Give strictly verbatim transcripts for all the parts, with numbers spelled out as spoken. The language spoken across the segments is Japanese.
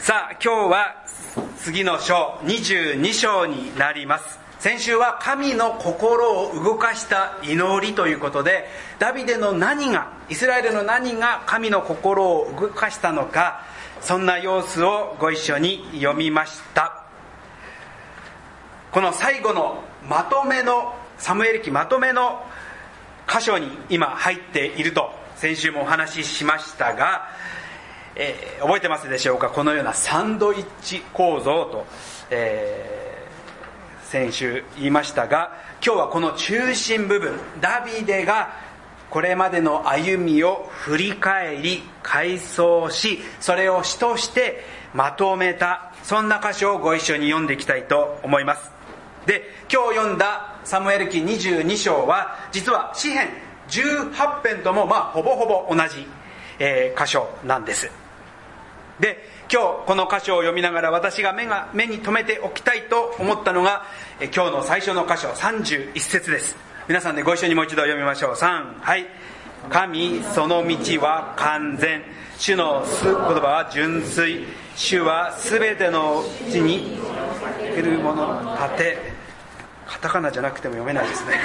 さあ今日は次の章にじゅうに章になります。先週は神の心を動かした祈りということで、ダビデの何が、イスラエルの何が神の心を動かしたのか、そんな様子をご一緒に読みました。この最後のまとめのサムエル記まとめの箇所に今入っていると先週もお話ししましたが、えー、覚えてますでしょうか。このようなサンドイッチ構造と、えー、先週言いましたが、今日はこの中心部分、ダビデがこれまでの歩みを振り返り回想し、それを詩としてまとめた、そんな箇所をご一緒に読んでいきたいと思います。で、今日読んだサムエル記にじゅうに章は実は詩編じゅうはち編ともまあほぼほぼ同じ、えー、箇所なんです。で、今日この箇所を読みながら私が 目が目に留めておきたいと思ったのが、えー、今日の最初の箇所さんじゅういち節です。皆さんでご一緒にもう一度読みましょう。さん、はい。神その道は完全、主の言葉は純粋、主はすべてのうちにいるもの立て。カタカナじゃなくても読めないですね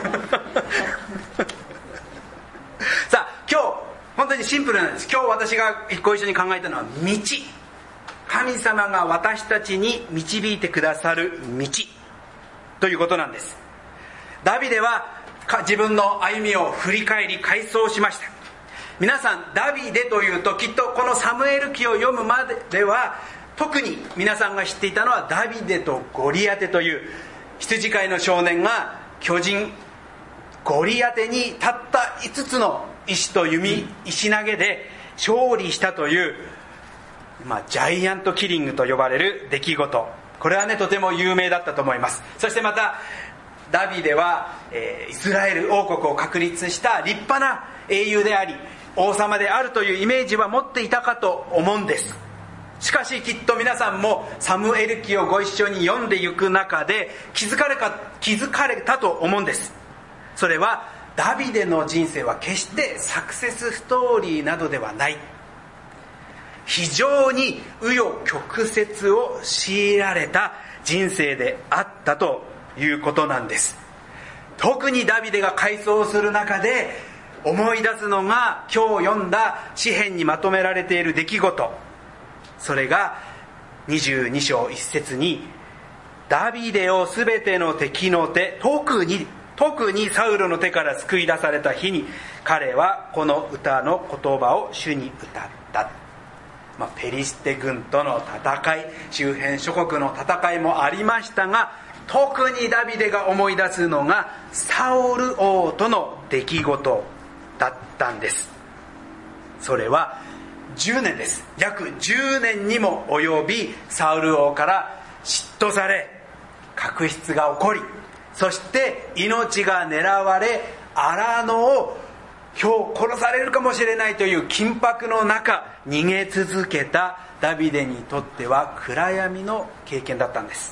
さあ今日本当にシンプルなんです。今日私がご一緒に考えたのは道、神様が私たちに導いてくださる道ということなんです。ダビデは自分の歩みを振り返り回想しました。皆さんダビデというときっとこのサムエル記を読むまでは特に皆さんが知っていたのはダビデとゴリアテという羊飼いの少年が巨人ゴリアテにたったいつつの石と弓石投げで勝利したという、まあ、ジャイアントキリングと呼ばれる出来事、これはねとても有名だったと思います。そしてまたダビデは、えー、イスラエル王国を確立した立派な英雄であり王様であるというイメージは持っていたかと思うんです。しかしきっと皆さんもサムエル記をご一緒に読んでいく中で気づかれか、気づかれたと思うんです。それはダビデの人生は決してサクセスストーリーなどではない、非常に紆余曲折を強いられた人生であったということなんです。特にダビデが回想する中で思い出すのが今日読んだ詩編にまとめられている出来事、それがにじゅうに章いち節に、ダビデをすべての敵の手、特に特にサウロの手から救い出された日に彼はこの歌の言葉を主に歌った、まあ、ペリシテ軍との戦い、周辺諸国の戦いもありましたが、特にダビデが思い出すのがサウル王との出来事だったんです。それはじゅうねんです。約じゅうねんにも及びサウル王から嫉妬され確執が起こり、そして命が狙われ荒野を今日殺されるかもしれないという緊迫の中逃げ続けたダビデにとっては暗闇の経験だったんです。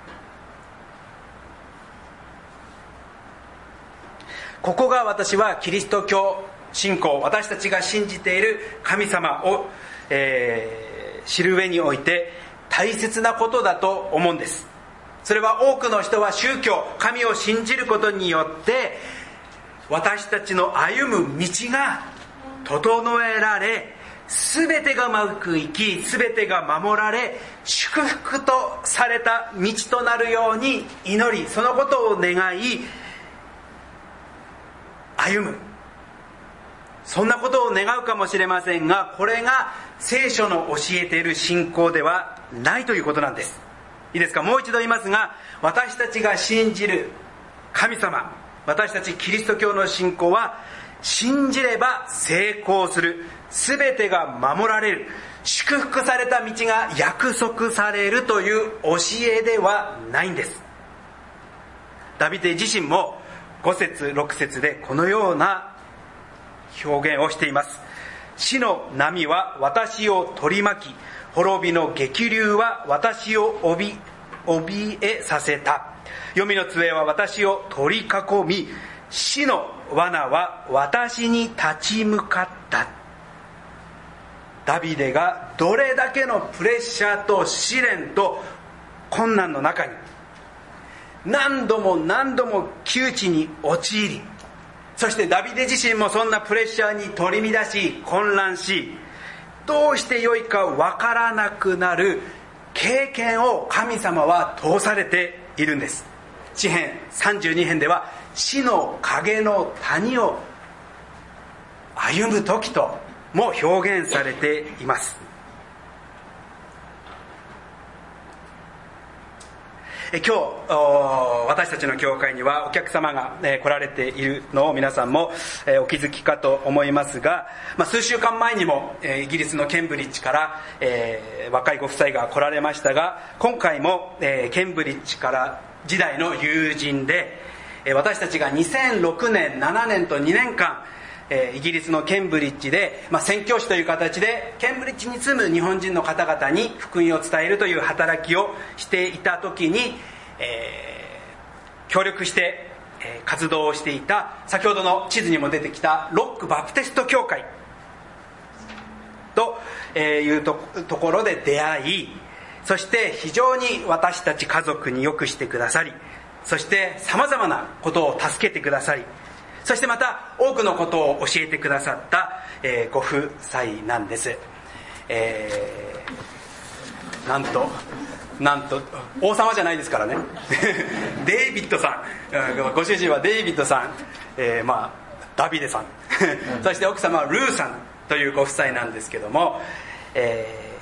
ここが私はキリスト教信仰、私たちが信じている神様を、えー、知る上において大切なことだと思うんです。それは多くの人は宗教、神を信じることによって私たちの歩む道が整えられ、全てがうまくいき、全てが守られ祝福とされた道となるように祈り、そのことを願い歩む、そんなことを願うかもしれませんが、これが聖書の教えている信仰ではないということなんです。いいですか、もう一度言いますが、私たちが信じる神様、私たちキリスト教の信仰は信じれば成功する、全てが守られる、祝福された道が約束されるという教えではないんです。ダビデ自身もご節ろく節でこのような表現をしています。死の波は私を取り巻き、滅びの激流は私を怯えさせた。黄泉の杖は私を取り囲み、死の罠は私に立ち向かった。 ダビデがどれだけのプレッシャーと試練と困難の中に何度も何度も窮地に陥り、そしてダビデ自身もそんなプレッシャーに取り乱し混乱し、どうしてよいかわからなくなる経験を神様は通されているんです。詩編さんじゅうに編では死の影の谷を歩む時とも表現されています。今日私たちの教会にはお客様が来られているのを皆さんもお気づきかと思いますが、数週間前にもイギリスのケンブリッジから若いご夫妻が来られましたが、今回もケンブリッジから時代の友人で、私たちがにせんろくねんななねんとにねんかんイギリスのケンブリッジで、まあ、宣教師という形でケンブリッジに住む日本人の方々に福音を伝えるという働きをしていた時に、えー、協力して、えー、活動をしていた、先ほどの地図にも出てきたロックバプテスト教会というところで出会い、そして非常に私たち家族によくしてくださり、そしてさまざまなことを助けてくださり、そしてまた多くのことを教えてくださった、えー、ご夫妻なんです。えー、なんとなんと王様じゃないですからねデイビッドさん、ご主人はデイビッドさん、えー、まあダビデさんそして奥様はルーさんというご夫妻なんですけども、え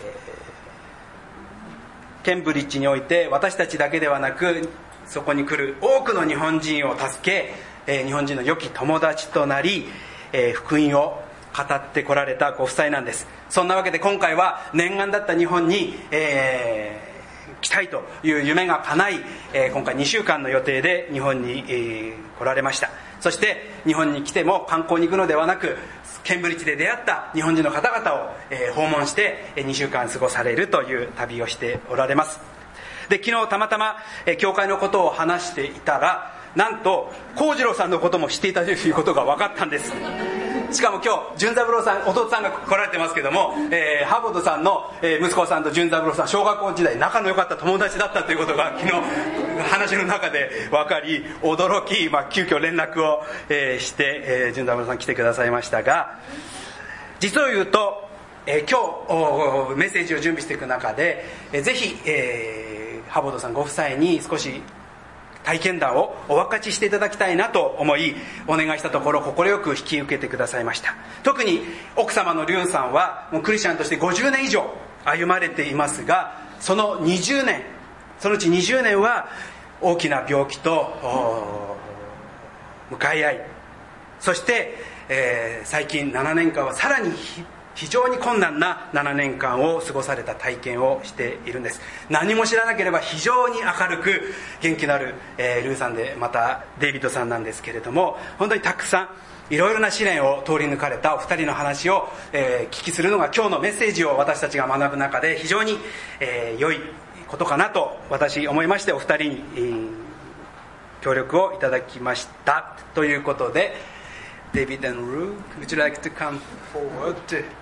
ー、ケンブリッジにおいて私たちだけではなく、そこに来る多くの日本人を助け、日本人の良き友達となり、福音を語ってこられたご夫妻なんです。そんなわけで今回は念願だった日本に、えー、来たいという夢が叶い、えー、今回にしゅうかんの予定で日本に、えー、来られました。そして日本に来ても観光に行くのではなく、ケンブリッジで出会った日本人の方々を、えー、訪問してにしゅうかん過ごされるという旅をしておられます。で、昨日たまたま、えー、教会のことを話していたら、なんと幸次郎さんのことも知っていたということが分かったんです。しかも今日純三郎さん、弟さんが来られてますけども、えー、ハーボッドさんの、えー、息子さんと純三郎さん、小学校時代仲の良かった友達だったということが昨日話の中で分かり、驚き、まあ、急遽連絡を、えー、して、えー、純三郎さん来てくださいましたが、実を言うと、えー、今日メッセージを準備していく中で、えー、ぜひ、えー、ハーボッドさんご夫妻に少し体験談をお分かちしていただきたいなと思いお願いしたところ、快く引き受けてくださいました。特に奥様のリュンさんはもうクリスチャンとしてごじゅうねん以上歩まれていますが、そのにじゅうねん、そのうちにじゅうねんは大きな病気と向かい合い、そして、えー、最近ななねんかんはさらに非常に困難なななねんかんを過ごされた体験をしているんです。何も知らなければ非常に明るく元気のある、えー、ルーさんで、またデイビッドさんなんですけれども、本当にたくさんいろいろな試練を通り抜かれたお二人の話を、えー、聞きするのが今日のメッセージを私たちが学ぶ中で非常に、えー、良いことかなと私思いまして、お二人に、えー、協力をいただきましたということで、デイビッド and Rue, would you like to come forward?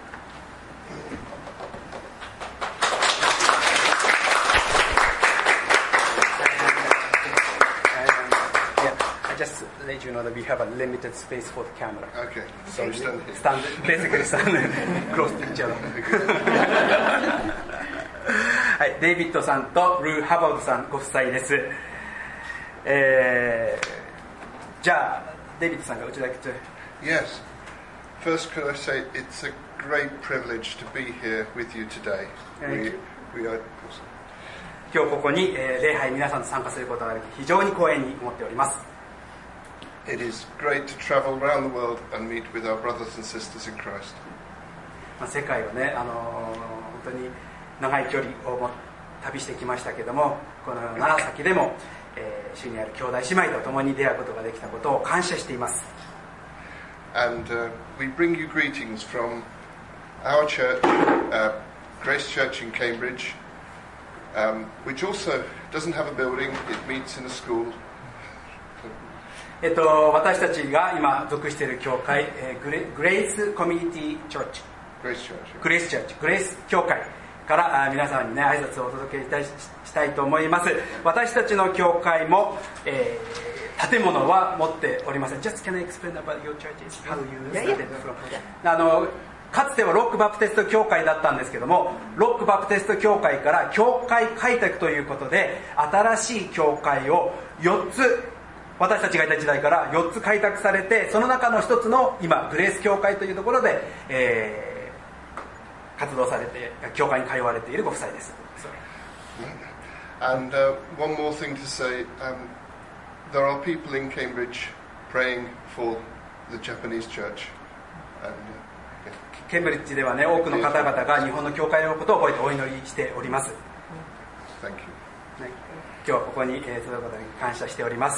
Just let you know that we have a limited space for the camera. Okay. So you stand here. Stand, basically stand close to each other. はい、デイビッドさんとルー・ハバウドさんご夫妻です。えー、じゃあデイビッドさんが、would you like to? Yes. First, could I say it's a great privilege to be here with you today. We, we are. 今日ここに、えー、礼拝皆さんと参加することができ非常に光栄に思っております。 It is great to travel around the world and meet with our brothers and sisters in Christ. まあ世界をね、あのー、本当に長い距離を旅してきましたけども、このような先でも、えー、主にある兄弟姉妹と共に出会うことができたことを感謝しています。 And uh, we bring you greetings from our church, uh, Grace Church in Cambridge, um, which also doesn't have a building, it meets in a school. えっと、私たちが今属している教会、えー、グレ、グレイスコミュニティチョーチ Grace Church. グレースチャーチ、グレース教会からあ皆さんにね挨拶をお届けいたししたいと思います。私たちの教会も、えー、建物は持っておりません。Just can I explain about your churches? How you started from? あのかつてはロックバプテスト教会だったんですけども、ロックバプテスト教会から教会開拓ということで新しい教会をよっつ、私たちがいた時代からよっつ開拓されて、その中の一つの今グレース教会というところで、えー、活動されて教会に通われているご夫妻です。 And uh, one more thing to say, um, there are people in Cambridge praying for the Japanese church. And, uh, ケンブリッジではね、多くの方々が日本の教会のことを覚えてお祈りしております。 Thank you. ね、今日はここに、えー、届くことに感謝しております。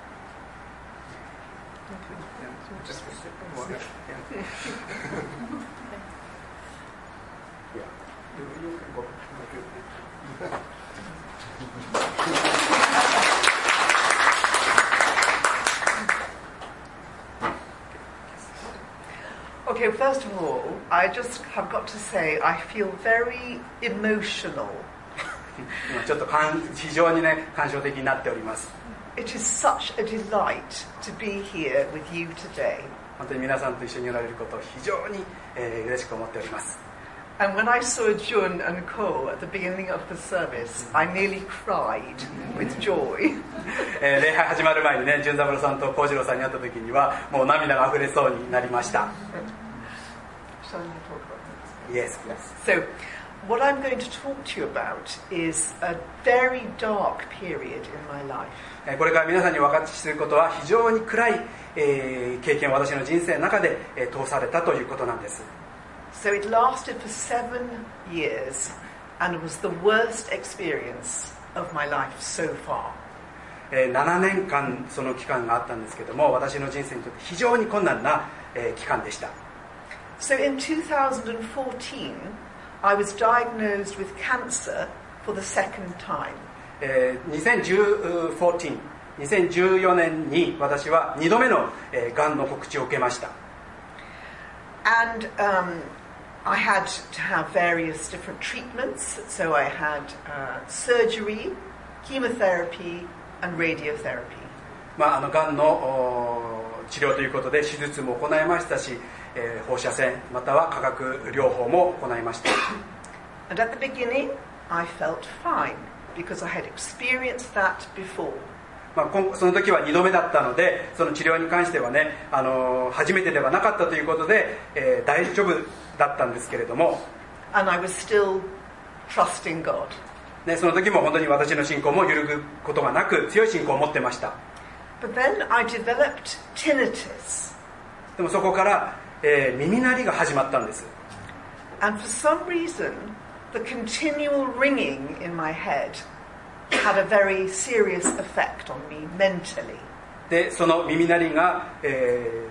Okay, first of all, I just have got to say I feel very emotional. ちょっと非常にね感傷的になっております。 It is such a delight to be here with you today. 本当に皆さんと一緒におられることを非常に、えー、嬉しく思っております。 And when I saw Jun and Ko at the beginning of the service, I nearly cried with joy. えー、礼拝始まる前にね、純三郎さんと幸次郎さんに会った時にはもう涙が溢れそうになりました。 Shall I talk about Yes, this? yes. So, what I'm going to talk to you about is a very dark period in my life. これから皆さんにお分かちすることは非常に暗い、えー、経験を私の人生の中で、えー、通されたということなんです。 So it lasted for seven years and was the worst experience of my life so far. えー、ななねんかんその期間があったんですけども、私の人生にとって非常に困難な、えー、期間でした。 So in twenty fourteen, I was diagnosed with cancer for the second time. えー、にせんじゅうよん、にせんじゅうよねんに私はにどめの、えー、がんの告知を受けました。 And um, I had to have various different treatments. So I had uh, surgery, chemotherapy, and radiotherapy. まあ、あのがんの治療ということで手術も行いましたし、えー、放射線または化学療法も行いました。 And at the beginning, I felt fine because I had experienced that before. まあ、その時はにどめだったので、その治療に関してはね、あの初めてではなかったということで、えー、大丈夫だったんですけれども、 And I was still trusting God. ね、その時も本当に私の信仰も揺るぐことがなく強い信仰を持ってました。 But then I developed tinnitus. でもそこから、えー、耳鳴りが始まったんです。 And for some reason, the continual ringing in my head had a very serious effect on me mentally. で、その耳鳴りが、え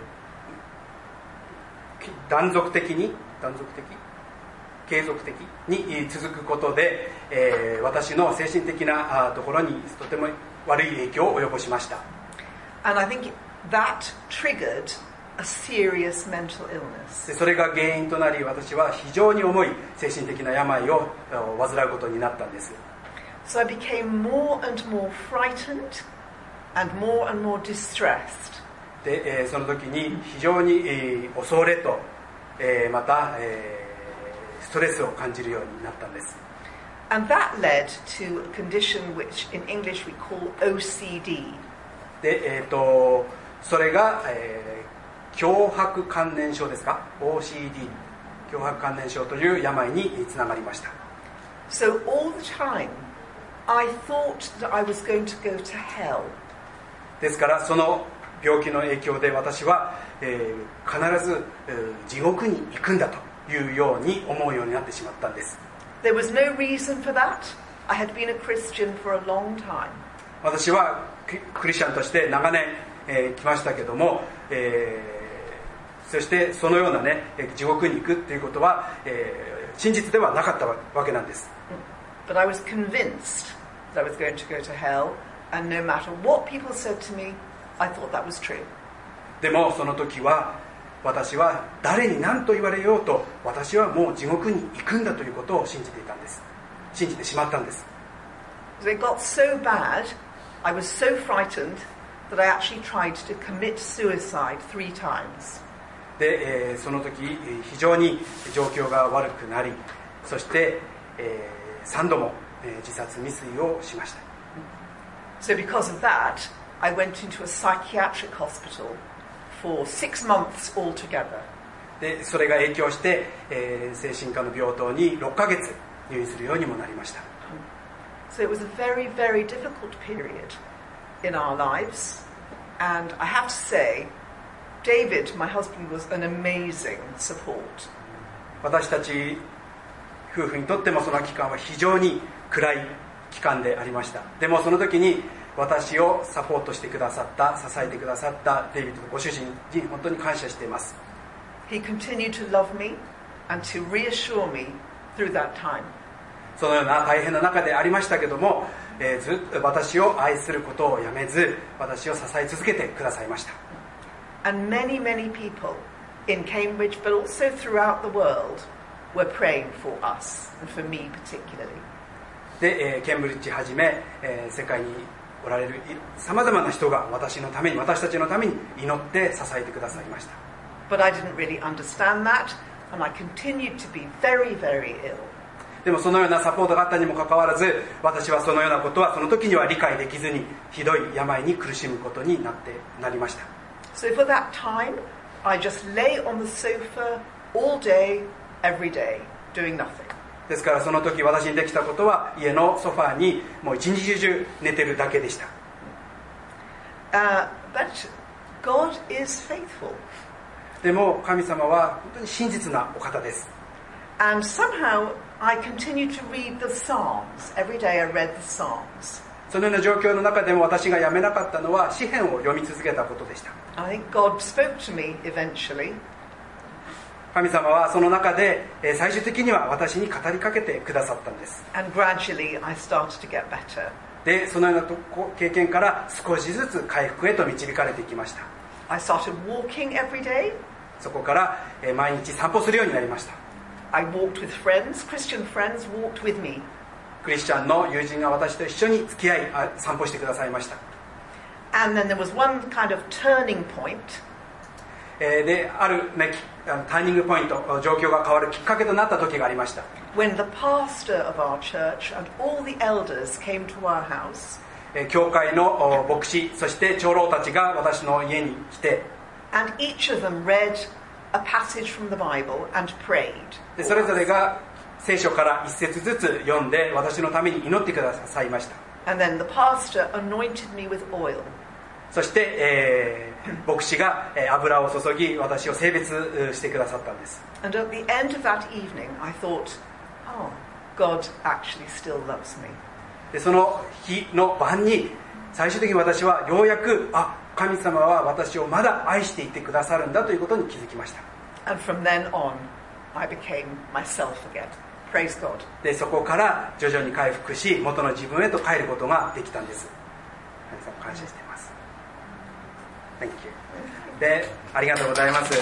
ー、断続的に断続的継続的に続くことで、えー、私の精神的なところにとても悪い影響を及ぼしました。 And I think that triggered a serious mental illness. でそれが原因となり、私は非常に重い精神的な病を患うことになったんです。 So I became more and more frightened and more and more distressed. で、えー、その時に非常に、えー、恐れと、えー、また、えー、ストレスを感じるようになったんです。 And that led to a condition which in English we call O C D. で、えー、とそれが、えー、強迫観念症ですか オーシーディー 強迫観念症という病につながりました。 So all the time I thought that I was going to go to hell. ですからその病気の影響で私は、えー、必ず、えー、地獄に行くんだというように思うようになってしまったんです。 There was no reason for that. I had been a Christian for a long time. 私はクリスチャンとして長年、えー、来ましたけども、えー、そしてそのようなね地獄に行くということは、えー、真実ではなかったわけなんです。 But I was convinced that I was going to go to hell, and no matter what people said to me, I thought that was true. でもその時は私は誰に何と言われようと私はもう地獄に行くんだということを信じていたんです。信じてしまったんです。 It got so bad, I was so frightened that I actually tried to commit suicide three times. で、えー、その時非常に状況が悪くなり、そして、えー、さんども、えー、自殺未遂をしました。 So because of that, I went into a psychiatric hospital for six months altogether. でそれが影響して、えー、精神科の病棟にろっかげつ入院するようにもなりました。 So it was a very, very difficult period in our lives. And I have to say, David, my husband, was an amazing support. 私たち夫婦にとってもその期間は非常に暗い期間でありました。でもその時に私をサポートしてくださった、支えてくださったデイビッドのご主人に本当に感謝しています。 He continued to love me and to reassure me through that time. そのような大変な中でありましたけども、えー、ずっと私を愛することをやめず、私を支え続けてくださいました。 And many, many people in Cambridge, but also throughout the world, were praying for us, and for me particularly. で、えー、ケンブリッジはじめ、えー、世界におられるさまざまな人が私のために、私たちのために祈って支えてくださいました。 But I didn't really understand that, and I continued to be very, very ill. でもそのようなサポートがあったにもかかわらず、私はそのようなことはその時には理解できずに、ひどい病に苦しむことになってなりました。 So for that time, I just lay on the sofa all day, every day, doing nothing. ですからその時私にできたことは家のソファーにもう一日中寝てるだけでした。 Uh, but God is faithful. でも神様は本当に真実なお方です。 And somehow I continued to read the Psalms. Every day I read the Psalms. そのような状況の中でも私がやめなかったのは詩篇を読み続けたことでした。 I think God spoke to me eventually. 神様はその中で最終的には私に語りかけてくださったんです。 And gradually I started to get better. でそのようなとこ経験から少しずつ回復へと導かれていきました。 I started walking every day. そこから毎日散歩するようになりました。 I walked with friends. Christian friends walked with me. クリスチャンの友人が私と一緒に付き合い散歩してくださいました。 And then there was one kind of turning point. である、ね、ターニングポイント、状況が変わるきっかけとなった時がありました。 When the pastor of our church and all the elders came to our house. 教会の牧師、そして長老たちが私の家に来て、 And each of them read a passage from the Bible and prayed. でそれぞれが聖書から一節ずつ読んで私のために祈ってくださいました。 And then the pastor anointed me with oil. そして、えー、牧師が油を注ぎ私を聖別してくださったんです。 And at the end of that evening I thought, oh, God actually still loves me. でその日の晩に最終的に私はようやくあ神様は私をまだ愛していてくださるんだということに気づきました。 And from then on I became myself again. Praise God. でそこから徐々に回復し元の自分へと帰ることができたんです。神様感謝しています。 Thank you. でありがとうございます。で、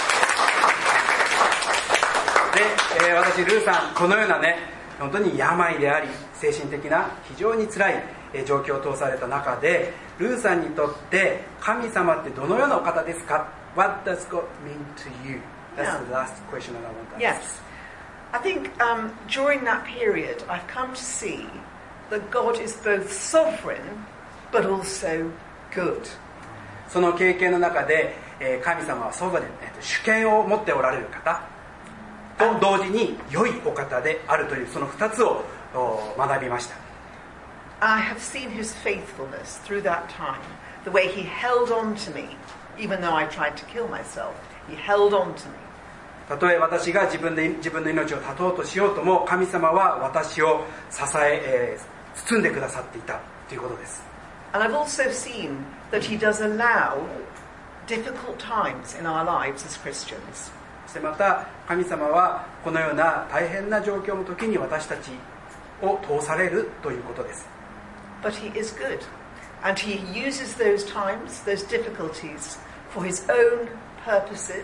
えー、私ルーさんこのようなね本当に病であり精神的な非常に辛い状況を通された中でルーさんにとって神様ってどのようなお方ですか？ What does God mean to you? That's the last question that I want to ask. Yes. I think um, during that period I've come to see that God is both sovereign but also good. その経験の中で、えー、神様はソバレン、えーと、主権を持っておられる方と同時に良いお方であるというその二つを学びました。 I have seen his faithfulness through that time. The way he held on to me, even though I tried to kill myself. He held on to me. たとえ私が自分で自分の命を絶とうとしようとも神様は私を支ええー、包んでくださっていたということです。 And I've also seen that he does allow difficult times in our lives as Christians. そしてまた神様はこのような大変な状況の時に私たちを通されるということです。 But he is good. And he uses those times, those difficulties, for his own purposes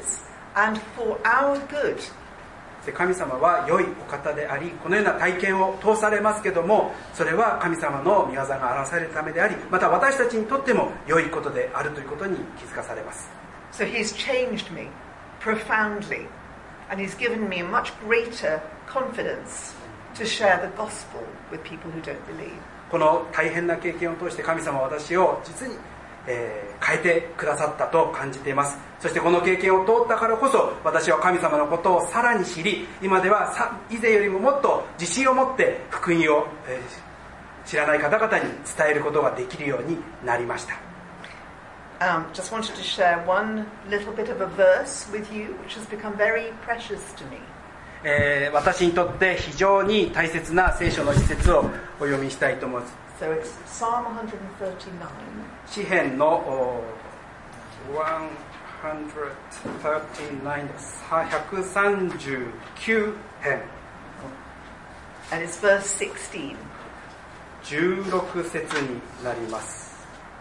and for our good. 神様は良いお方であり、このような体験を通されますけども、それは神様の御業が表されるためであり、また私たちにとっても良いことであるということに気づかされます。 So he's changed me profoundly, and he's given me a much greater confidence to share the gospel with people who don't believe. この大変な経験を通して神様は私を実に、えー、変えてくださったと感じています。そしてこの経験を通ったからこそ、私は神様のことをさらに知り、今ではさ以前よりももっと自信を持って福音を、えー、知らない方々に伝えることができるようになりました。 Um, just wanted to share one little bit of a verse with you, which has become very precious to me. えー、私にとって非常に大切な聖書の一節をお読みしたいと思います。 So it's Psalm one thirty-nine. 詩編のひゃくさんじゅうきゅうです。ひゃくさんじゅうきゅう編。 And it's verse sixteen. じゅうろく節になります。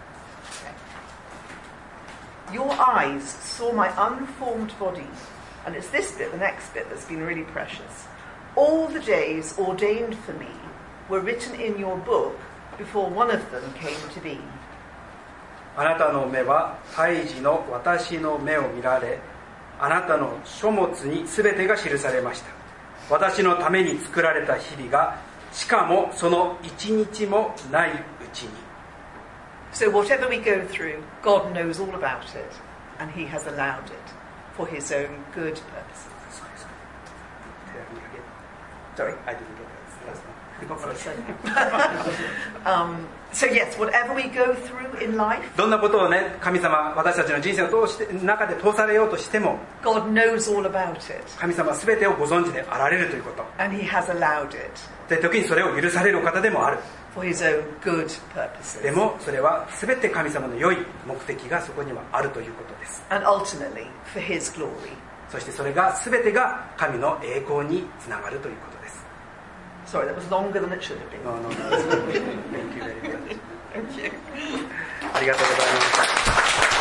Your eyes saw my unformed body. And it's this bit, the next bit, that's been really precious. All the days ordained for me were written in your book before one of them came to be. あなたの目は胎児の私の目を見られ、あなたの書物に全てが記されました。私のために作られた日々が、しかもその一日もないうちに。 So whatever we go through, God knows all about it, and He has allowed it for His own good purposes. Sorry, I didn't get that. um, so yes, whatever we go through in life, どんなことをね、神様、私たちの人生を通して中で通されようとしても、 God knows all about it, 神様は全てをご存知であられるということ。 and He has allowed it で、時にそれを許されるお方でもある。 for His own good purposes. でもそれは全て神様の良い目的がそこにはあるということです。 And ultimately for His glory. そしてそれが全てが神の栄光につながるということです。 Sorry, that was longer than it should have been. No, no, no. Thank you very much. Thank you. ありがとうございます。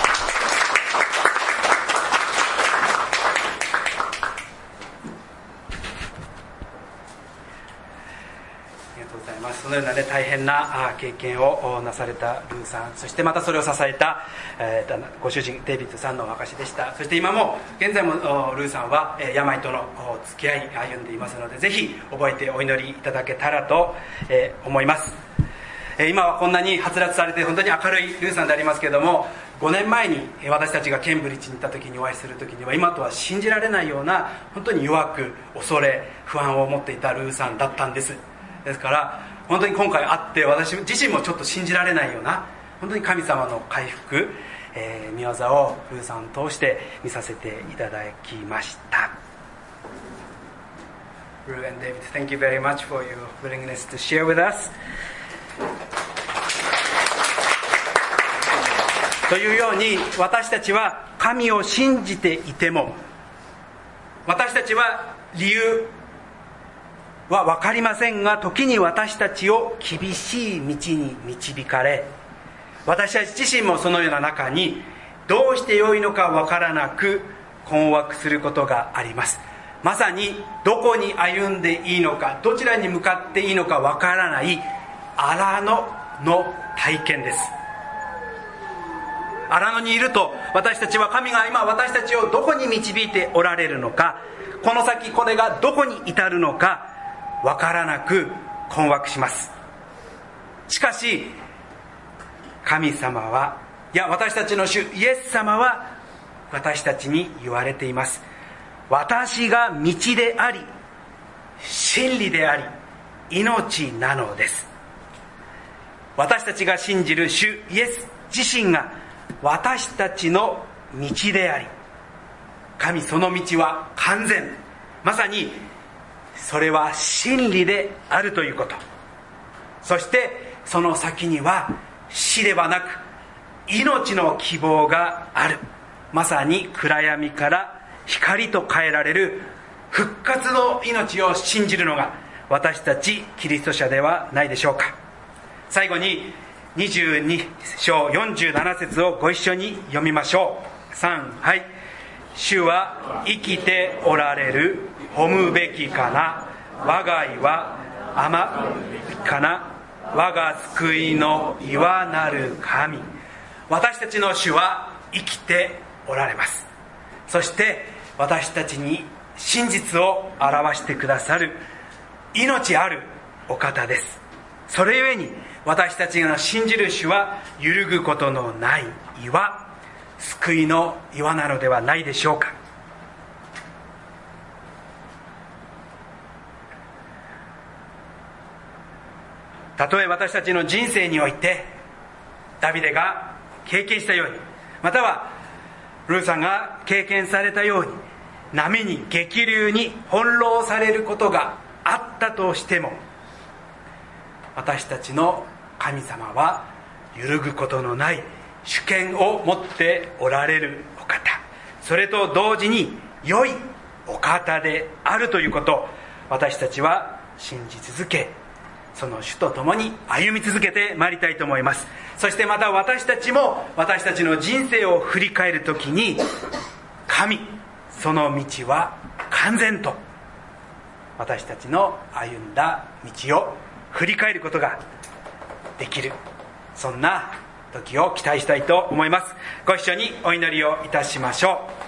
そのような、ね、大変な経験をなされたルーさん、そしてまたそれを支えた、えー、ご主人デイビッドさんのお証でした。そして今も現在もルーさんは病との付き合い歩んでいますので、ぜひ覚えてお祈りいただけたらと思います。今はこんなにはつらつされて本当に明るいルーさんでありますけれども、ごねんまえに私たちがケンブリッジに行った時にお会いする時には、今とは信じられないような本当に弱く恐れ不安を持っていたルーさんだったんです。ですから本当に今回会って私自身もちょっと信じられないような本当に神様の回復、えー、御業をルーさんを通して見させていただきました。 Rue and David, thank you very much for your willingness to share with us. というように私たちは神を信じていても、私たちは理由は分かりませんが、時に私たちを厳しい道に導かれ、私たち自身もそのような中にどうしてよいのか分からなく困惑することがあります。まさにどこに歩んでいいのか、どちらに向かっていいのか分からない荒野の体験です。荒野にいると私たちは神が今私たちをどこに導いておられるのか、この先これがどこに至るのか分からなく困惑します。しかし神様は、いや私たちの主イエス様は私たちに言われています。私が道であり真理であり命なのです。私たちが信じる主イエス自身が私たちの道であり、神その道は完全、まさにそれは真理であるということ。そしてその先には死ではなく命の希望がある。まさに暗闇から光と変えられる復活の命を信じるのが私たちキリスト者ではないでしょうか。最後ににじゅうに章よんじゅうなな節をご一緒に読みましょう。さん、はい。 主は生きておられる、褒むべきかな。我が意は甘かな。我が救いの岩なる神。私たちの主は生きておられます。そして私たちに真実を表してくださる命あるお方です。それゆえに私たちが信じる主は揺るぐことのない岩、救いの岩なのではないでしょうか。たとえ私たちの人生においてダビデが経験したように、またはルーさんが経験されたように、波に激流に翻弄されることがあったとしても、私たちの神様は揺るぐことのない主権を持っておられるお方、それと同時に良いお方であるということを私たちは信じ続け、その主と共に歩み続けてまいりたいと思います。そしてまた私たちも私たちの人生を振り返るときに、神その道は完全と、私たちの歩んだ道を振り返ることができる、そんな時を期待したいと思います。ご一緒にお祈りをいたしましょう。